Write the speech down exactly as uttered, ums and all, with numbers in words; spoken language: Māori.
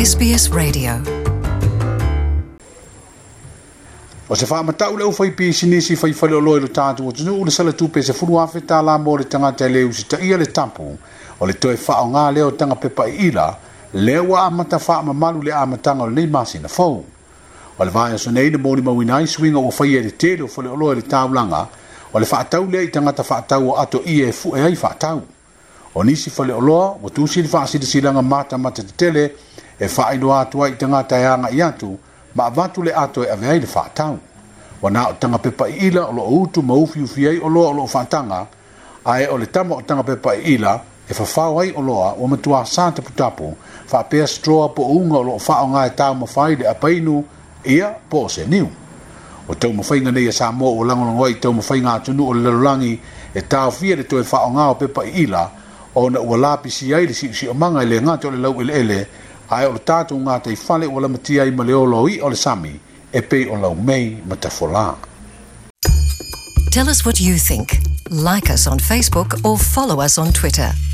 S B S Radio. O se wha matau leo whai pisi nisi whai whale o loe lo tātu o tunu ule sala tupe se furu awhi tā la mo le tangata leo si ta ia le tapu o le toe wha o ngā leo tanga pepa i ila leo wa amata wha mamalu le amatanga o le nei masi na fau. O le vaya so nei na mōni mawinai swinga o whai e le tele o whale o loe le tāulanga o le whaatau lea i tangata whaatau o ato i e fu e ai whaatau. O nisi whale o loa o tūsi le whaasida silanga mata mata te tele e whaino atua i tangata e anga i atu ma avatu le ato e avei le whaatau. Wana o tanga pepa i ila o lo utu maufi ufi ai o loa o lo whaatanga ae o le tama o tanga pepa i ila e whawhau ai o loa o matua sāta putapu whapea stroa po unga o lo whao ngā e tau mawhai le apainu ia po se niu. O tau mawhainga nei a sa mo o langolongo i tau mawhainga atunu o le lalulangi e tau fia le toe whao ngā o pepa i ila o na ua lapisi ai le si si o manga i le ngāte o le lau ele ele ae o le tātou ngā te i whale o la matia i ma le olo i o le sami e pe o lau mei matafola. Tell us what you think. Like us on Facebook or follow us on Twitter.